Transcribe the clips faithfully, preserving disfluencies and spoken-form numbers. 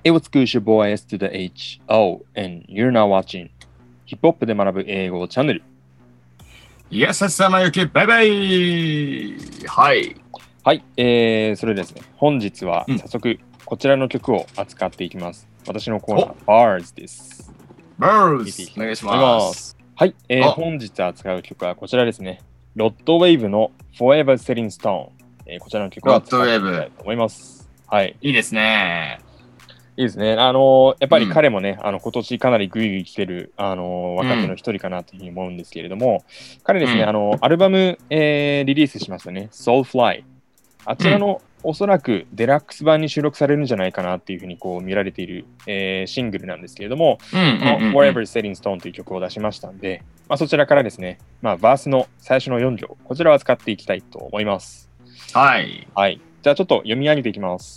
It was good, your boy S to the H O, and you're now watching ヒップホップで学ぶ英語チャンネル。 イエス、さまゆき、バイバイ。はい。 はい、えー、それでですね、本日は早速こちらの曲を扱っていきます。うん、私のコーナー、Bars です。 Bars、お願いします。 はい、えー、本日扱う曲はこちらですね。ロッドウェーブの Forever Setting Stone、えー。こちらの曲を扱っていきたいと思います。はい。 いいですね。 いいですね。あのー、やっぱり彼もね、うん、あの今年かなりグイグイ来てる、あのー、若手の一人かなというふうに思うんですけれども、うん、彼ですね、うん、あのアルバム、えー、リリースしましたね、Soulfly。あちらの、うん、おそらくデラックス版に収録されるんじゃないかなっていうふうにこう見られている、えー、シングルなんですけれども、Forever Setting Stone という曲を出しましたんで、まあ、そちらからですね、まあ、バースの最初のよん行、こちらを扱っていきたいと思います。 はい。 はい。じゃあちょっと読み上げていきます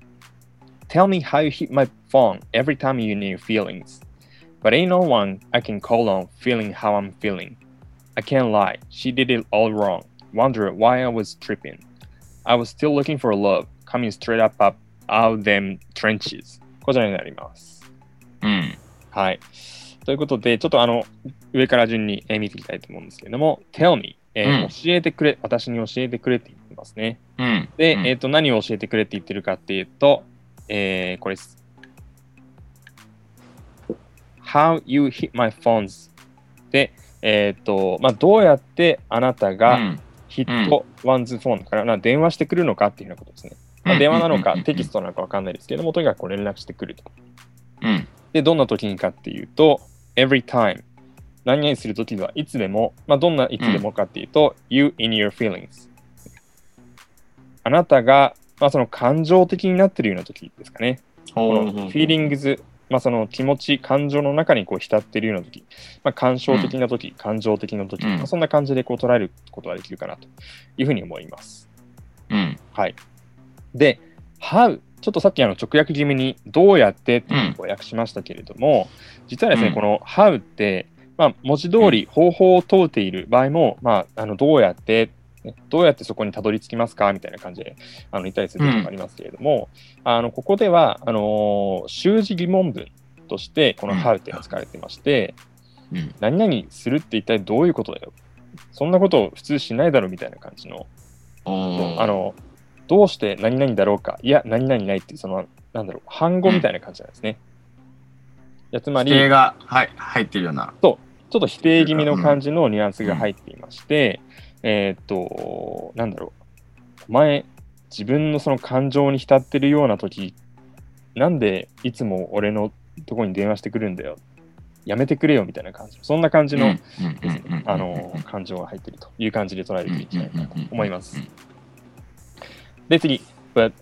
。Tell me how you hit my phone every time you need feelings. But ain't no one I can call on feeling how I'm feeling. I can't lie, she did it all wrong. Wonder why I was tripping. I was still looking for love, coming straight up, up out them trenches. こちらになります。 うん。 はい。ということで、ちょっとあの、上から順に見ていきたいと思うんですけれども、Tell me、えーうん、教えてくれ、私に教えてくれって言ってますね。 うん、 で、 うん、 えっと、何を教えてくれって言ってるかっていうと、えー、これです。How you hit my phones で、えっ、ー、と、まあ、どうやってあなたがヒットワンズフォンから、うん、電話してくるのかっていうようなことですね。まあ、電話なのかテキストなのかわかんないですけれども、とにかくこう連絡してくると。 うん、 で、どんな時にかっていうと、every time。何々する時はいつでも、まあ、どんないつでもかっていうと、うん、you in your feelings。あなたがまあ、その感情的になっているような時ですかね。このフィーリングズ、まあ、その気持ち、感情の中にこう浸っているような時、まあ、感傷的な時、うん、感情的な時、うんまあ、そんな感じでこう捉えることができるかなというふうに思います。 うん、 はい。で、how、ちょっとさっきあの直訳気味にどうやってっていうのを訳しましたけれども、うん、実はですね、うん、この how って、まあ、文字通り方法を問うている場合も、まあ、あのどうやってどうやってそこにたどり着きますかみたいな感じであの言ったりすることもありますけれども、うん、あのここではあのー、習字疑問文としてこの how っていうのが使われていまして、うん、何々するって一体どういうことだよ、そんなことを普通しないだろうみたいな感じの、あのどうして何々だろうか、いや何々ないっていうそのなんだろう反語みたいな感じなんですね。うん、やつまり否定が、はい、入ってるような、 そうちょっと否定気味の感じのニュアンスが入っていまして、うん、えー、っとなんだろう、お前自分のその感情に浸ってるような時なんでいつも俺のとこに電話してくるんだよ、やめてくれよみたいな感じ、そんな感じのですね、あの感情が入っているという感じで捉えていきたいなと思います。で次、But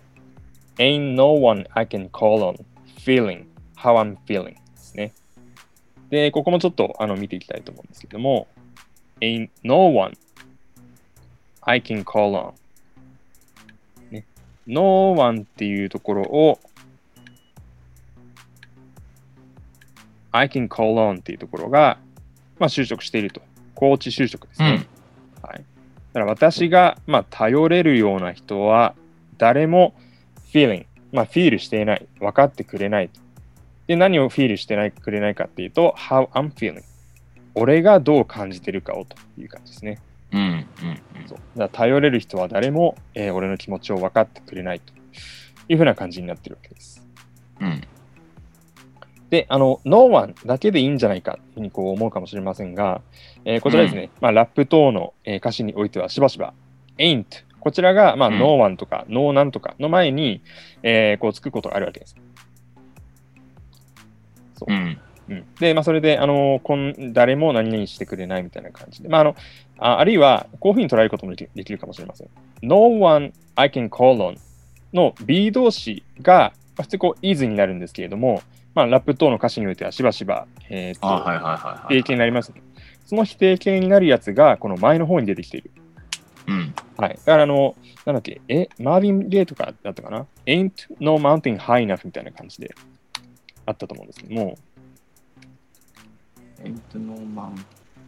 ain't no one I can call on feeling how I'm feeling ですね。で、ここもちょっとあの見ていきたいと思うんですけども、ain't no one I can call on、ね、no one っていうところをI can call on っていうところが、まあ、就職していると。高知就職ですね。うん、はい。だから私が、まあ、頼れるような人は誰も feeling、まあ、フィールしていない、分かってくれない。で、何をフィールしてないくれないかっていうと、how I'm feeling。俺がどう感じてるかをという感じですね。 うんうんうん、 そうだから頼れる人は誰も、えー、俺の気持ちを分かってくれないというふうな感じになってるわけです。 うんで、あの、No one だけでいいんじゃないかというふうにこう思うかもしれませんが、えー、こちらですね、うんまあ、ラップ等の、えー、歌詞においてはしばしば ain't こちらが、まあ、うん、No one とか No なんとかの前に、えー、こうつくことがあるわけです。そう。 うんうん、で、まあ、それで、あのこん誰も何々してくれないみたいな感じで、まあ、あのああるいはこういうふうに捉えることもできできるかもしれません。No one I can call on の B 動詞が、まあ、普通こう is になるんですけれども、まあ、ラップ等の歌詞においてはしばしば、えー、と否定形になります、ね。その否定形になるやつがこの前の方に出てきている。 うんはい、だからあの、なんだっけ、え、マーヴィン・ゲイとかだったかな ?Ain't no mountain high enough みたいな感じであったと思うんですけども。 Ain't no mountain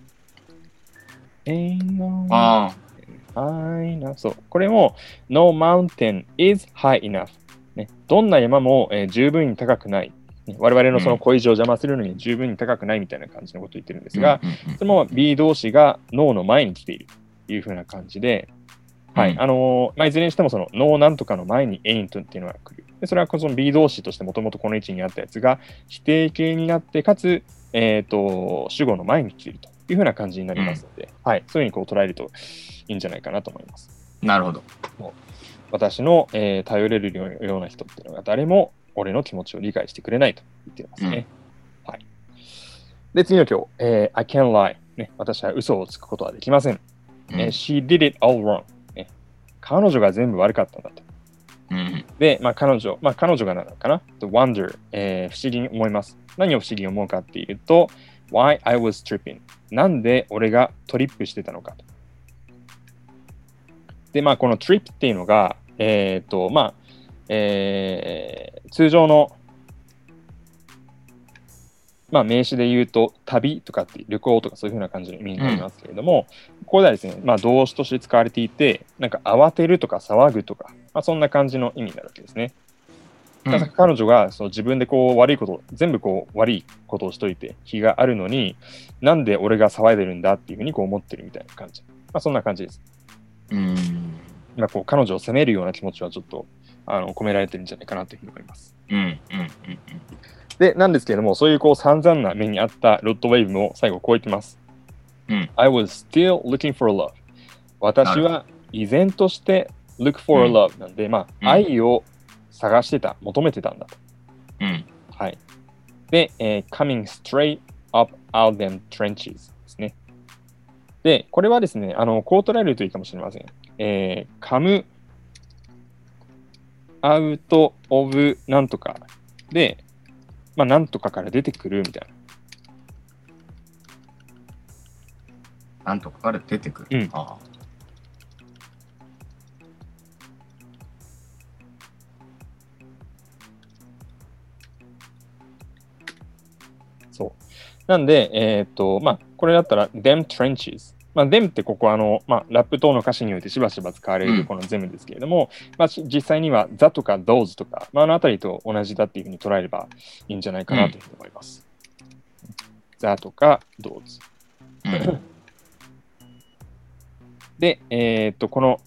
Ain't no mountain high enough。そう。これも No mountain is high enough。 ね、どんな山も、えー、十分に高くない。我々のその恋路を邪魔するのに十分に高くないみたいな感じのことを言ってるんですが、そのまま B 動詞が脳の前に来ているというふうな感じで、はい、あのーまあ、いずれにしてもその脳なんとかの前に ain't っていうのが来る。でそれはこの B 動詞としてもともとこの位置にあったやつが否定形になって、かつ、えー、と主語の前に来ているというふうな感じになりますので、うんはい、そういうふうにこう捉えるといいんじゃないかなと思います。 なるほど。 私の、えー、頼れるような人っていうのが誰も俺の気持ちを理解してくれないと言っていますね。うんはい、で、次の今日、えー、I can't lie、ね。私は嘘をつくことはできません。うんえー、She did it all wrong、ね。彼女が全部悪かったんだと。うん、で、まあ、彼女、まあ、彼女がなのかな ?The wonder、えー、不思議に思います。何を不思議に思うかっていうと、Why I was tripping。なんで俺がトリップしてたのかと。で、まあ、この trip っていうのが、えっと、まあ、えー、通常の、まあ、名詞で言うと、旅とかって旅行とかそういうふうな感じの意味になりますけれども、うん、ここではですね、まあ、動詞として使われていて、なんか慌てるとか騒ぐとか、まあ、そんな感じの意味になるわけですね。うん、彼女がそう自分でこう悪いこと、全部こう悪いことをしといて気があるのに、なんで俺が騒いでるんだっていうふうにこう思ってるみたいな感じ。まあ、そんな感じです。うんまあ、こう彼女を責めるような気持ちはちょっとあの込められてるんじゃないかなというふうに思います。うんうんうんうん、で、なんですけれども、そういうこう散々な目にあったロッドウェイブも最後こう言ってます。うん、I was still looking for love。私は依然として look for love なんで、うん、まあ、愛を探してた、求めてたんだと。うんはい、で、えー、coming straight up out them trenches ですね。で、これはですね、あのこう捉えるといいかもしれません。えー、come out of なんとかで、まあ、なんとかから出てくるみたいな。なんとかから出てくる。うん、ああそう。なんで、えっと、まあ、これだったら、them trenches。まあ、them ってここあの、まあ、ラップ等の歌詞においてしばしば使われるこの them ですけれども、うんまあ、実際には the とか those とか、まあ、あのあたりと同じだっていうふうに捉えればいいんじゃないかなというふうに思います。うん、the とか those。うん、で、えっと、この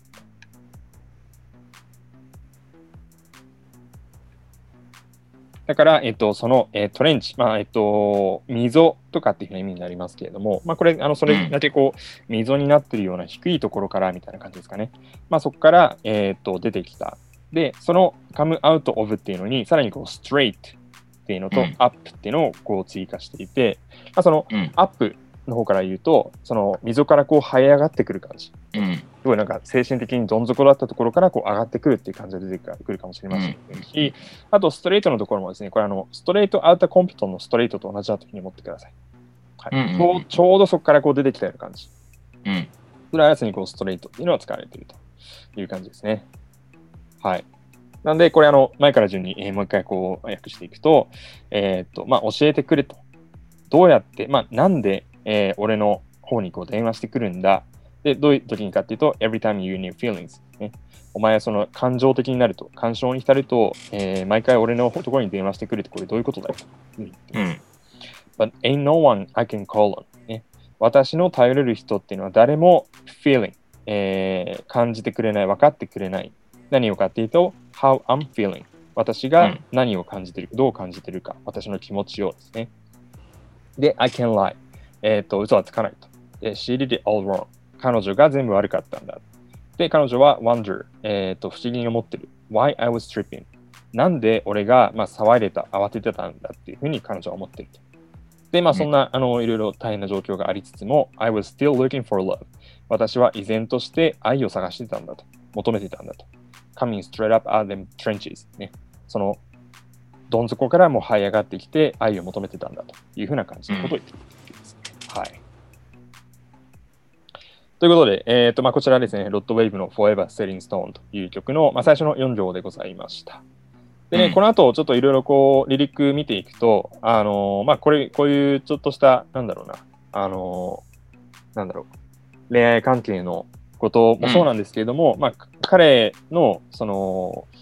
だから、えっと、その、えー、トレンチ、まあ、えっと、溝とかっていうふうな意味になりますけれども、まあ、これ、あの、それだけこう、溝になっているような低いところからみたいな感じですかね。まあ、そこから、えー、っと、出てきた。で、その come out of っていうのに、さらにこう、straight っていうのと、up っていうのをこう追加していて、まあ、その、up の方から言うと、その溝からこう這い上がってくる感じ。うん、すごいなんか精神的にどん底だったところからこう上がってくるっていう感じで出てくるかもしれませんし、うん、あとストレートのところもですね、これあのストレートアウターコンピトンのストレートと同じだというふうに思ってください。はいうんうんうん、ちょうどそこからこう出てきたような感じ。うん、それはやつにこうストレートっていうのが使われているという感じですね。はい。なんでこれあの前から順に、えー、もう一回こう訳していくと、えー、っとまあ教えてくれと。どうやって、まあなんで、えー、俺の方にこう電話してくるんだ。で、どういう時にかっていうと、every time you need feelings、ね。お前はその感情的になると、感傷に浸ると、えー、毎回俺のところに電話してくるってこれどういうことだよと言ってます。うん、But ain't no one I can call on、ね。私の頼れる人っていうのは誰も feeling、えー、感じてくれない、分かってくれない。何をかっていうと、how I'm feeling。私が何を感じてる、うん、どう感じてるか、私の気持ちをですね。で、I can lie。えっと、嘘はつかないと。で、She did it all wrong。彼女が全部悪かったんだ。で、彼女は wonder、えっと、不思議に思ってる。Why I was tripping。なんで俺が、まあ、騒いでた、慌ててたんだっていうふうに彼女は思ってると。で、まあ、そんな、あの、いろいろ大変な状況がありつつも、I was still looking for love。私は依然として愛を探してたんだと。求めてたんだと。Coming straight up out of them trenches。ね。その、どん底からも這い上がってきて愛を求めてたんだというふうな感じのことを言っています、うん。はい。ということで、えーとまあ、こちらですね、ロッドウェイブの Forever Setting Stone という曲の、まあ、最初のよん行でございました。でね、うん、この後ちょっといろいろこう、リリック見ていくと、あのー、まあ、これ、こういうちょっとした、なんだろうな、あのー、なんだろう、恋愛関係のこともそうなんですけれども、うん、まあ、彼の、その、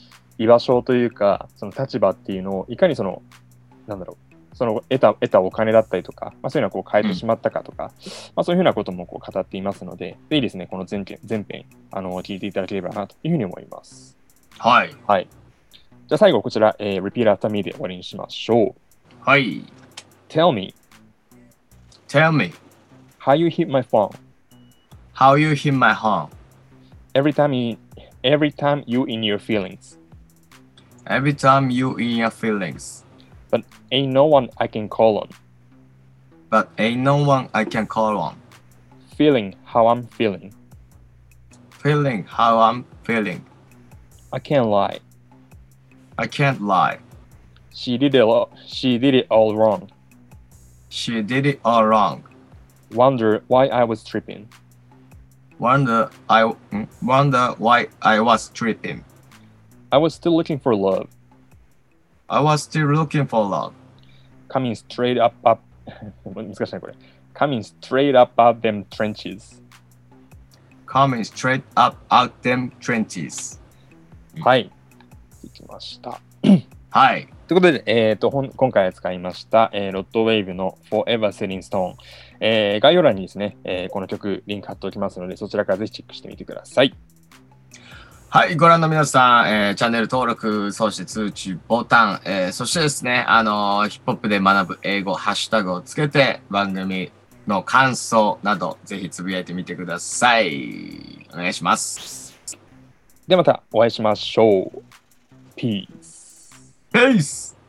居場所というか、その立場っていうのをいかにその、なんだろう、その得た得たお金だったりとか、まあ、そういうのをこう変えてしまったかとか、うん、まあ、そういうふうなこともこう語っていますので、ぜひですね、この前編、前編あの聞いていただければなというふうに思います。 はい。 はい。じゃあ最後こちら、えー、Repeat after me で終わりにしましょう。 はい。 Tell me. Tell me. How you hit my phone. How you hit my home. Every time you, every time you in your feelings. Every time you in your feelings. But ain't no one I can call on. But ain't no one I can call on. Feeling how I'm feeling. Feeling how I'm feeling. I can't lie. I can't lie. She did it all, she did it all wrong. She did it all wrong. Wonder why I was tripping. Wonder I wonder why I was tripping. I was still looking for love. I was still looking for love. Coming straight up up 難しいねこれ Coming straight up out them trenches. Coming straight up out them trenches. はい。いきました。 はい。 ということで、えー、と今回使いました、えー、ロッドウェーブの Forever Setting Stone、えー、概要欄にですね、えー、この曲リンク貼っておきますので、そちらからぜひチェックしてみてください。 はい、ご覧の皆さん、えー、チャンネル登録、そして通知ボタン、えー、そしてですね、あのー、ヒップホップで学ぶ英語、ハッシュタグをつけて、番組の感想など、ぜひつぶやいてみてください。お願いします。 ではまたお会いしましょう。Peace. Peace!